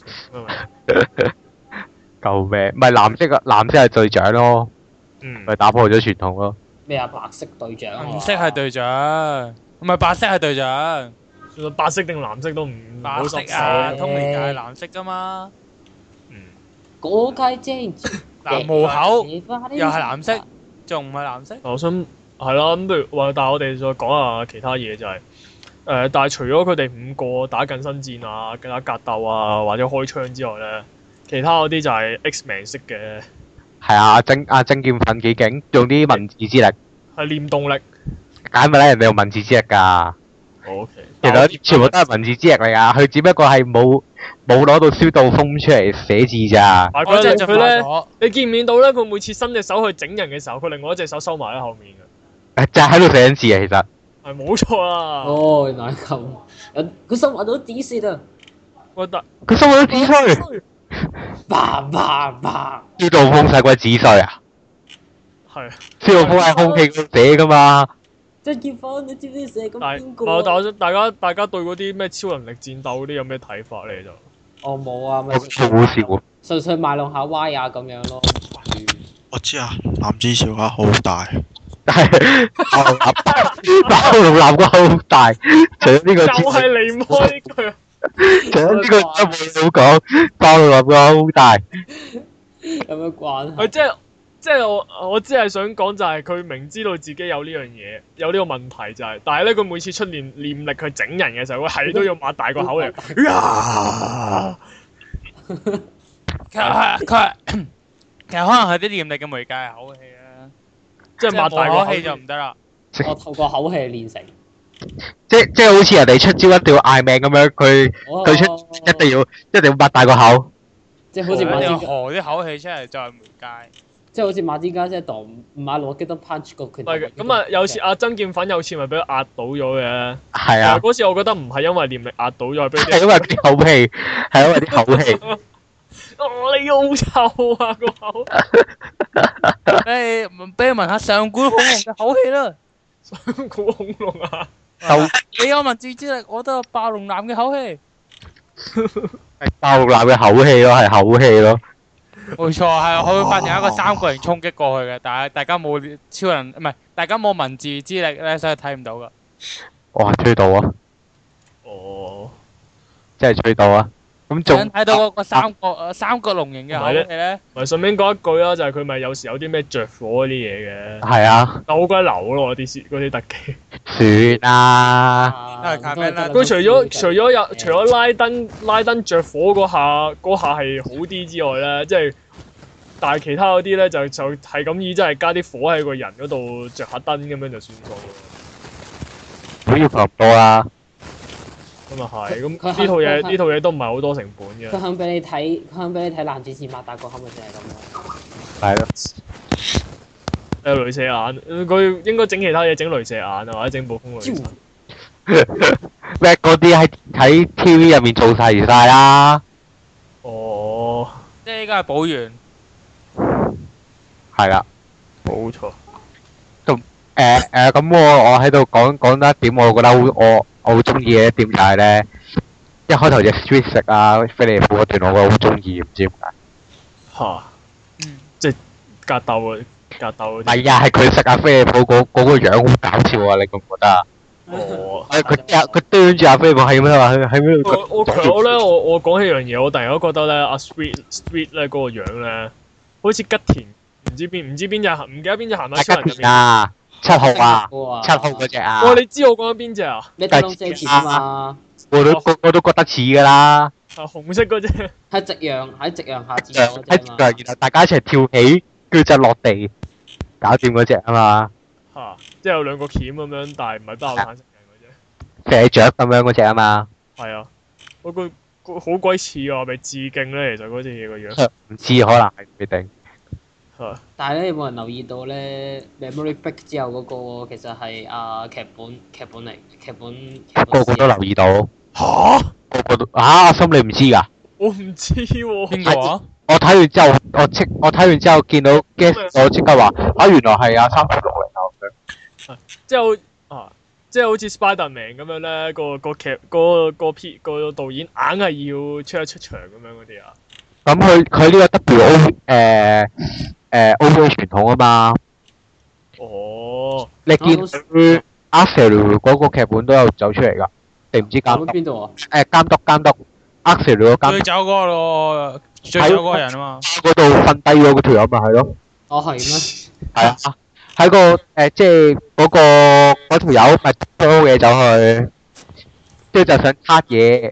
救命！唔係藍色啊，藍色係隊長咯， 嗯咪打破咗傳統咯。 咩啊？白色隊長啊！ 紅色係隊長，唔係白色係隊長。 白色定藍色都唔好白色濕啊， 手。 通靈就係藍色噶嘛。 嗯， 嗰屆正嗱，無口又係藍色，仲唔係藍色？ 我想係啦，咁不如話，但係我哋再講下其他嘢就係、誒、但係除咗佢哋五個打近身戰啊、打格鬥啊或者開槍之外咧，其他嗰啲就係 X-Man 式嘅， 係啊，曾阿曾劍奮幾勁，用啲文字之力， 係念動力。 解咪咧？人哋用文字之力㗎。 O K， 其實全部都係文字之力嚟㗎，佢只不過係冇冇攞到消毒風出嚟寫字咋。 但係我真係佢咧， 咗。 你見唔見到咧？佢每次伸隻手去整人嘅時候，佢另外一隻手收埋喺後面嘅， 誒就係喺度寫緊字啊，其實。 係冇錯啦。 哦，原來係咁。人佢收埋到指示啊！ 我覺得佢收咗紙衰， 叭叭叭！ 消毒風使鬼紙衰啊！ 係， 消毒風喺空氣度寫㗎嘛。 張劍鋒，你知唔知寫咁但係邊個啊？ 唔係但係我想大家大家對嗰啲咩超能力戰鬥嗰啲有咩睇法咧？就我冇啊，咪好好笑。 純粹賣弄下歪啊咁樣咯。 我知啊，男子小鴨好大， 但係包龍男個好大，除咗呢個之外， 就係離唔開呢句。 除咗呢個都冇好講，包龍男個好大。 有咩關係？ 佢即係即係我我只係想講就係佢明知道自己有呢樣嘢，有呢個問題就係、但係咧佢每次出念念力去整人嘅時候，佢係都要擘大個口嚟。呀其實係佢係其實可能係啲念力嘅媒介係口氣啊， 即係即係擘大個口冇口氣就唔得啦。 我透過口氣練成。 即即係好似人哋出招一定要嗌命咁樣，佢哦佢出一定要一定要擘大個口。 即係好似一定要馬之河啲口氣出嚟就係媒介。 即係好似馬之家姐當馬路激得 punch 個拳頭。 係嘅咁啊！有次阿曾劍奮有次咪俾佢壓倒咗嘅。 係啊， 嗰次我覺得唔係因為念力壓倒咗，係俾係因為啲口氣，係因為啲口氣。 哦，你好臭啊個口！ 誒，俾你聞下上古恐龍嘅口氣啦。 上古恐龍啊！ 就你有文字之力，我都有暴龍男嘅口氣。 係包龍男嘅口氣咯，係口氣咯。 冇錯，係佢會發現一個三角形衝擊過去嘅，但係大家冇超人，唔係大家冇文字之力咧，所以睇唔到噶。 哇，吹到啊！ 哦， 真係吹到啊！咁想仲睇到嗰個三角誒三角龍形嘅口氣咧， 咪順便講一句啦，就係佢咪有時有啲咩着火嗰啲嘢嘅， 係啊， 但好鬼流咯啲嗰啲特技。 算啦。 啊都係卡咩啦佢除咗除咗有除咗拉登拉登着火嗰下嗰下係好啲之外咧，即係但係其他嗰啲咧就就係咁意，即係加啲火喺個人嗰度着下燈咁樣就算數咯。 唔好要求咁多啦。 咁啊係，咁佢呢套嘢佢呢套嘢都唔係好多成本嘅佢。肯俾你睇，佢肯俾你睇男子士擘大個口咪就係咁咯。 係咯。 有鐳射眼，佢應該整其他嘢，整鐳射眼啊，或者整暴風鐳射。 咩嗰啲喺喺 T V 入面做晒晒啦。 哦， 即係依家係補完。 係啦。 冇錯。 誒誒，咁我我喺度講講得一點，我覺得好我我好中意嘅一點就係咧，一開頭隻 Street 食啊飛利浦嗰段，我覺得好中意，唔知點解。 嚇！ 嗯。 即係格鬥啊，格鬥嗰啲。 係啊，係佢食阿飛利浦嗰嗰個樣好搞笑啊！你覺唔覺得啊？ 哦。 誒佢佢佢端住阿飛利浦係咁樣話，佢喺邊度？ 我我其實我咧，我我講起樣嘢，我突然間覺得咧，阿 Street Street 咧嗰個樣咧，好似吉田唔知邊唔知邊隻唔記得邊隻鹹蛋超人入係吉田面。 啊，七號啊， 哇七號嗰只啊。 哇！你知我講緊邊隻啊？ 你睇龍遮田啊嘛， 我都個個都覺得似㗎啦。 係紅色嗰隻。 喺夕陽喺夕陽下自喺由嗰隻啊嘛。 然後大家一齊跳起，跟住就落地，搞掂嗰只啊嘛。 嚇！即係有兩個鉗咁樣，但係唔係包產食人嗰射雀咁樣嗰只啊嘛。 隻。係啊，嗰個個好鬼似啊！係咪致敬咧？其實嗰隻嘢個樣。 唔知可能係唔定。 係。 但係咧，有冇人留意到咧？Memory Break 之後嗰個其實係啊劇本劇本嚟，劇本。劇本個個都留意到。 嚇！ 個個都啊！阿心你唔知㗎？ 我唔知喎。 邊個啊？ 我睇完之後，我即我睇完之後見到 guess，我即刻話啊，原來係啊三條六嚟啊咁樣。 即係好啊，即係好似 Spiderman 咁樣咧，個個劇個個 P 個導演硬係要出一出場咁樣嗰啲啊。 咁佢佢呢個 W O 誒誒 O V A 傳統啊嘛。 哦。 你見佢阿 Sir 嗰個劇本都有走出嚟㗎，定唔知監督？ 邊度啊？ 誒監督監督阿 Sir 個監督。 最走嗰個咯，最走嗰個人啊嘛。 嗰度瞓低咗嗰條友咪係咯。 哦係咩？ 係啊。喺個誒即係嗰個嗰條友咪多嘅走去，即係就想撻嘢，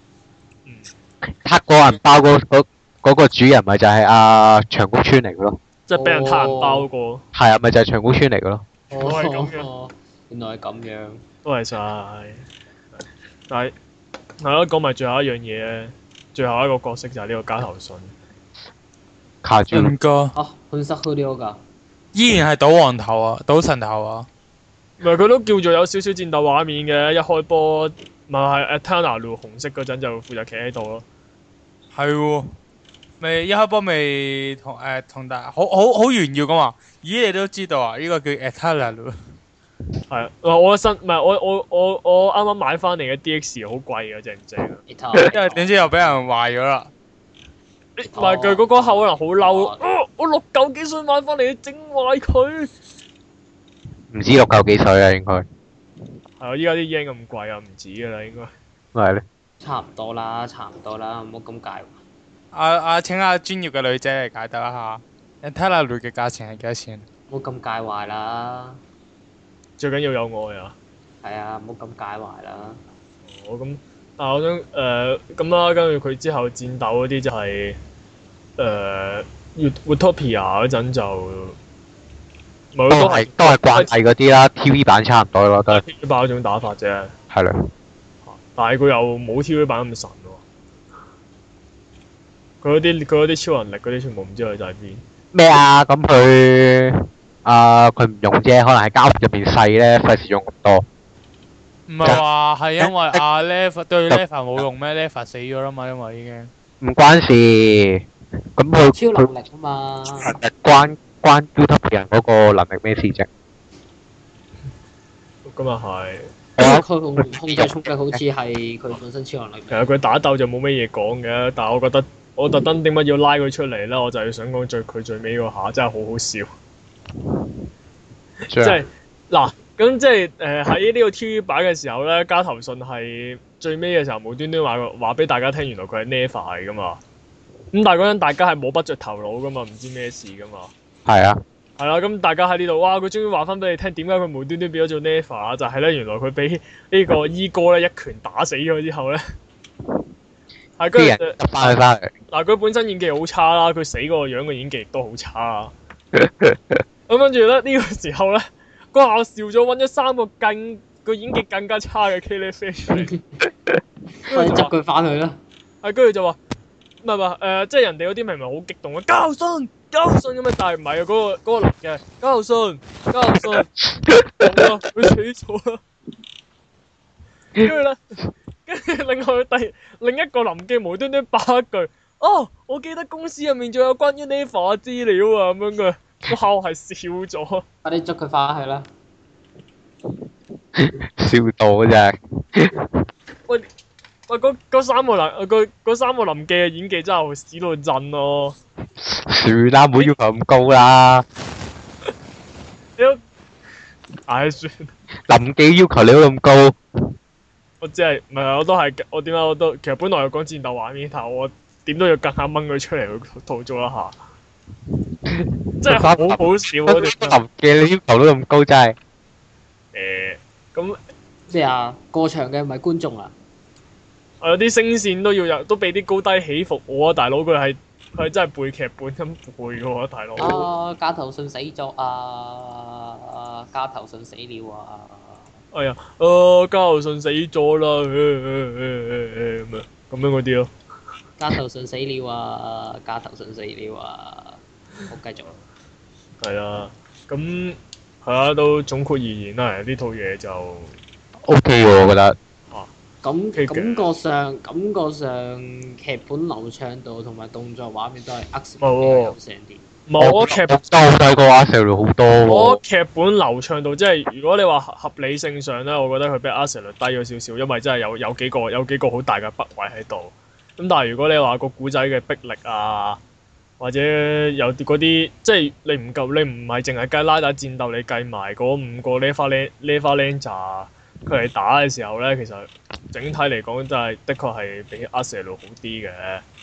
撻個銀包嗰嗰嗰個主人咪就係阿長谷川嚟嘅咯。 即係俾人撻銀包嗰個。係啊，咪就係長谷川嚟嘅咯。 都係咁樣。 原來係咁樣。 都係晒。但係係咯，講埋最後一樣嘢咧，最後一個角色就係呢個加藤信。 卡住。 唔該。 啊，本身好啲㗎。 依然係賭王頭啊，賭神頭啊！ 唔係佢都叫做有少少戰鬥畫面嘅，一開波咪係 Eternal 紅色嗰陣就負責企喺度咯。 係喎，咪一開波咪同誒同大好好好炫耀咁話，咦你都知道啊？呢、這個叫 Eternal。係啊，我新唔係我我我我啱啱買翻嚟嘅 D X 好貴嘅，正唔正啊？ 因為點知又俾人壞咗啦。 唔係佢嗰個口可能好嬲，啊！我六嚿幾水買翻嚟，整壞佢。 唔知六嚿幾水啊，應該。係啊！依家啲 yen 咁貴啊，唔止噶啦，應該。 咪係咧？ 差唔多啦，差唔多啦，唔好咁介。 阿阿請下專業嘅女仔嚟解答一下 Eternal 嘅價錢係幾多錢？ 唔好咁介懷啦。 最緊要有愛啊！ 係啊，唔好咁介懷啦。 哦，咁，但係我想誒咁啦，跟住佢之後戰鬥嗰啲就係誒 Utopia 嗰陣就， 都係都係慣例嗰啲啦 ，T V 版差唔多咯，都係。 T V 版嗰種打法啫。 係啦。 但係佢又冇 T V 版咁神喎。佢嗰啲佢嗰啲超能力嗰啲全部唔知佢就喺邊。 咩啊？咁佢啊佢唔用啫，可能係膠入邊細咧，費事用咁多。 唔係話係因為阿 Lev 對 Lev 冇用咩 ？Lev 死咗啦嘛，因為已經。 唔關事，咁佢超能力啊嘛。 誒關關 Utopia 嗰個能力咩事啫？ 咁又係。 佢控控制衝擊好似係佢本身超能力。 其實佢打鬥就冇乜嘢講嘅，但係我覺得我特登點解要拉佢出嚟咧？我就係想講最佢最尾嗰下真係好好笑。即係嗱，咁即係誒喺呢個 T V 版嘅時候咧，加藤信係最尾嘅時候無端端話話俾大家聽，原來佢係 Neva 嚟噶嘛。咁但係嗰陣大家係摸不着頭腦噶嘛，唔知咩事噶嘛。係啊。 係啦，咁大家喺呢度，哇！佢終於話翻俾你聽，點解佢無端端變咗做 Neva 啊？就係咧，原來佢俾呢個伊哥咧一拳打死咗之後咧，係跟住執翻佢翻嚟。 嗱，佢本身演技好差啦，佢死嗰個樣嘅演技亦都好差啦。咁跟住咧呢、呢個時候咧，嗰下笑咗揾咗三個更個演技更加差嘅 K L F 出嚟， 可以執佢翻去啦。 係跟住就話唔係唔係誒，即係人哋嗰啲明明好激動嘅交信交信咁樣，但係唔係啊，嗰、嗰個嗰、嗰個男嘅交信交信，好啊，佢死咗啦。跟住咧，跟住另外第另一個臨記無端端爆一句，哦，我記得公司入面仲有關於 Neva 嘅資料啊，咁樣嘅，我下我係笑咗。 快啲捉佢翻去啦！ 笑到嘅啫。 喂喂，嗰嗰三個臨嗰嗰三個臨記嘅演技真係屎到震咯。 算啦，唔好要求咁高啦。 你都唉算。 臨記要求你都咁高。 我只係唔係我都係我點解我都其實本來有講戰鬥畫面，但係我點都要夾硬掹佢出嚟去吐槽一下。真係好好笑啊！ 臨記你要求都咁高，真係。 誒，咁咩啊？過場嘅唔係觀眾啊？ 我有啲聲線都要有，都俾啲高低起伏我啊！大佬佢係佢係真係背劇本咁背嘅喎，大佬。 啊！加藤信死咗啊！加藤信死了啊！ 哎呀，啊加藤信死咗啦，咁樣咁樣嗰啲咯。 加藤信死了啊！加藤信死了啊！好，繼續。 係啊，咁係啊，都總括而言啦，呢套嘢就 O K 喎，我覺得。 啊， 感嘅感覺上感覺上劇本流暢度同埋動作畫面都係呃比較冇喎優勝啲。 冇我劇都好睇過阿 Sir 好多喎。 我劇本流暢度即係如果你話合合理性上咧，我覺得佢比阿 Sir 低咗少少，因為真係有有幾個有幾個好大嘅筆位喺度。咁但係如果你話個古仔嘅逼力啊，或者有啲嗰啲即係你唔夠，你唔係淨係計拉打戰鬥，你計埋嗰五個 Leva Leva Ranger 佢哋打嘅時候咧，其實整體嚟講真係的確係比阿 Sir 好啲嘅。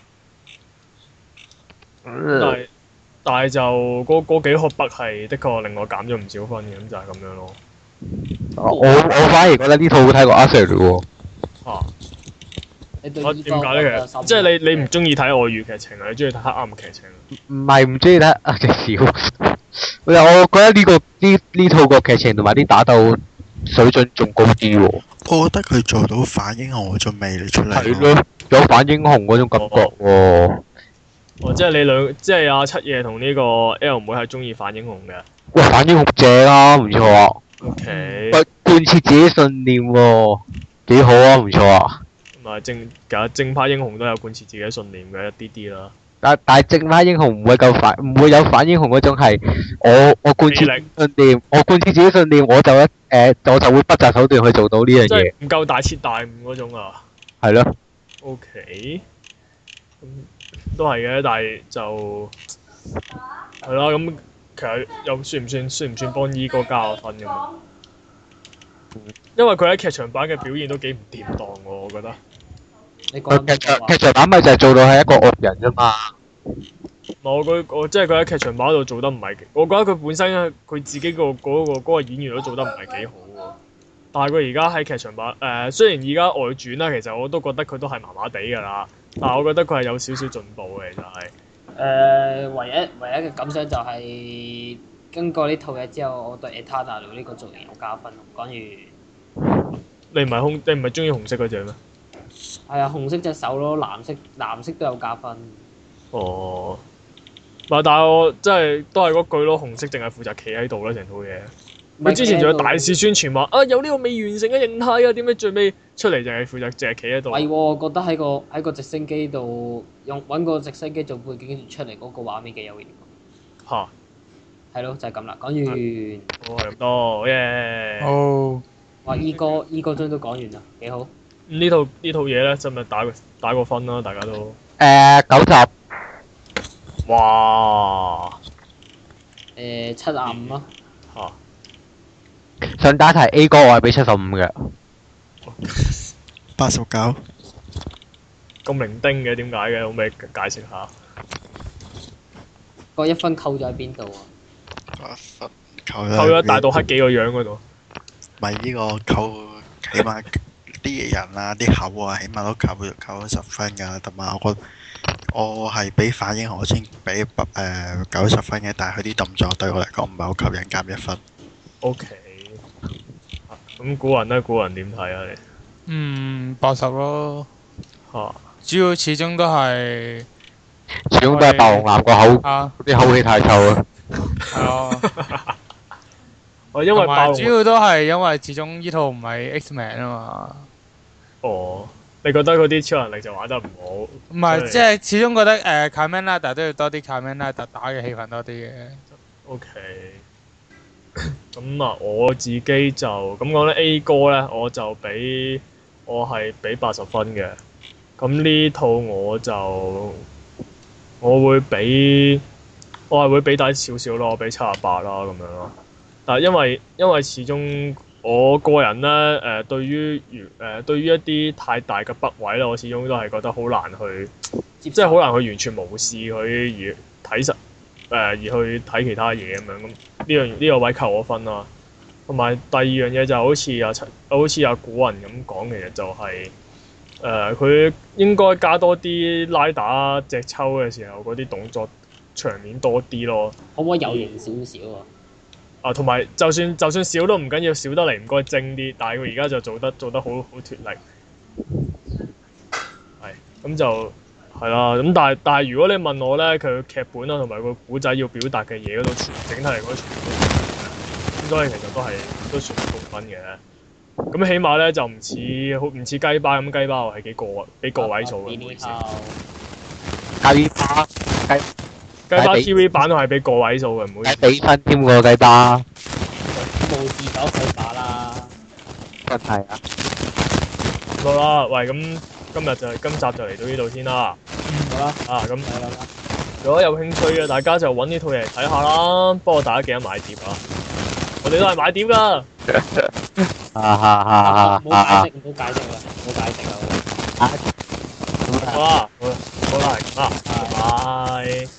但係但係就嗰嗰幾個筆係的確令我減咗唔少分嘅，咁就係咁樣咯。 我我反而覺得呢套好睇過阿 Sir 喎。 啊！ 你對我呢方點解咧？ 覺得深其實即係你你唔中意睇外語劇情啊？你中意睇黑暗劇情？ 唔係唔中意睇啊隻小，我我覺得呢、個呢呢套個劇情同埋啲打鬥水準仲高啲喎。 我覺得佢做到反英雄嗰種魅力出嚟係咯。 咯，有反英雄嗰種感覺喎。 哦，即係你兩，即係阿七爺同呢個 L 妹係中意反英雄嘅。 喂，反英雄正啊，唔錯啊。 O K。 喂，貫徹自己信念喎，幾好啊，唔錯啊。 同埋正，其實正派英雄都有貫徹自己嘅信念嘅一啲啲啦。 但但係正派英雄唔會夠反，唔會有反英雄嗰種係我我貫徹魅力信念，我貫徹自己信念，我就一誒、呃、我就會不擇手段去做到呢樣即嘢。 係唔夠大徹大悟嗰種啊。 係咯。 O K。咁都係嘅，但係就係啦。咁其實又算唔算算唔算幫依哥加個分咁啊？因為佢喺劇場版嘅表現都幾唔掂當喎，我覺得。 你講佢劇場緊劇場版咪就係做到係一個惡人啫嘛。 我佢我即係佢喺劇場版度做得唔係，我覺得佢本身佢自己個嗰個嗰個演員都做得唔係幾好喎。但係佢而家喺劇場版誒、呃，雖然而家外傳啦，其實我都覺得佢都係麻麻地㗎啦。但係我覺得佢係有少少進步嘅，其實係。 誒，唯一唯一嘅感想就係經過呢套嘢之後，我對 Eternal 呢個造型有加分。講完你唔係紅，你唔係中意紅色嗰隻咩？ 係啊，紅色隻手咯，藍色藍色都有加分。 哦。唔係，但係我即係都係嗰句咯，紅色淨係負責企喺度啦，成套嘢。佢之前仲有大肆宣傳話啊，有呢個未完成嘅形態啊，點解最尾出嚟就係負責淨係企喺度？ 係喎，我覺得喺個喺個直升機度用揾個直升機做背景，跟住出嚟嗰個畫面幾有型。 嚇！ 係咯，就係咁啦。講完。 哦，係咁多，耶！ 哦， 哇！依哥依哥張都講完啦，幾好。 呢套呢套嘢咧，真係打個打個分啦，大家都。 誒九集。 哇！ 誒七廿五咯。 嚇！ 想打題 A 哥，我係俾七十五嘅。 八十九。 咁零丁嘅點解嘅？可唔可以解釋下？ 個一分扣咗喺邊度啊？ 八分扣扣咗大到黑幾個樣嗰度。 咪呢個扣，起碼啲人啊、啲口啊，起碼都扣扣咗十分㗎。同埋我覺我係俾反英雄先俾誒九十分嘅，但係佢啲動作對我嚟講唔係好吸引，減一分。 O K。咁古人咧，古人點睇啊？你？ 嗯，八十咯。 嚇！ 主要始終都係始終都係白龍男個口， 啊， 啲口氣太臭啦。 係咯。 我因為同埋爆主要都係因為始終呢套唔係 X-Men 啊嘛。 哦，你覺得嗰啲超能力就玩得唔好？ 唔係，即係始終覺得誒 Kamen Rider 都要多啲 Kamen Rider 打嘅氣氛多啲嘅。 O K。咁啊，我自己就咁講咧 A 哥咧，我就俾我係俾八十分嘅。咁呢套我就我會俾我係會俾低少少咯，我俾七十八啦咁樣咯。但係因為因為始終我個人咧誒、呃、對於誒、呃、對於一啲太大嘅筆位咧，我始終都係覺得好難去，即係好難去完全無視佢而睇實誒、呃、而去睇其他嘢咁樣。咁呢樣呢個位扣我分啦。同埋第二樣嘢就好似阿陳好似阿古人咁講，其實就係誒佢應該加多啲拉打隻抽嘅時候嗰啲動作場面多啲咯。 可唔可以有型少少啊？ 啊，同埋就算就算少都唔緊要，少得嚟唔該精啲。但係佢而家就做得做得好好脫力，係咁就係啦。咁但係但係如果你問我咧，佢劇本啊同埋個古仔要表達嘅嘢嗰度，全整體嚟講全部都咁，所以其實都係都算高分嘅。 咁起碼咧就唔似好唔似雞巴咁，雞巴係幾個幾個位數嘅，唔好意思。 雞巴雞雞巴 T V 版都係俾個位數嘅，唔好意思。 雞比分添喎雞巴， 冇自九佢打啦。 真係啊！ 好啦，喂，咁今日就今集就嚟到呢度先啦。 好啦， 啊，咁係啦。 如果有興趣嘅，大家就揾呢套嘢嚟睇下啦。不過大家記得買碟啊！我哋都係買碟㗎。 哈哈哈！ 唔好解釋，唔好解釋啦，唔好解釋啦。 好啦，好啦，好啦，係咁啦，拜拜。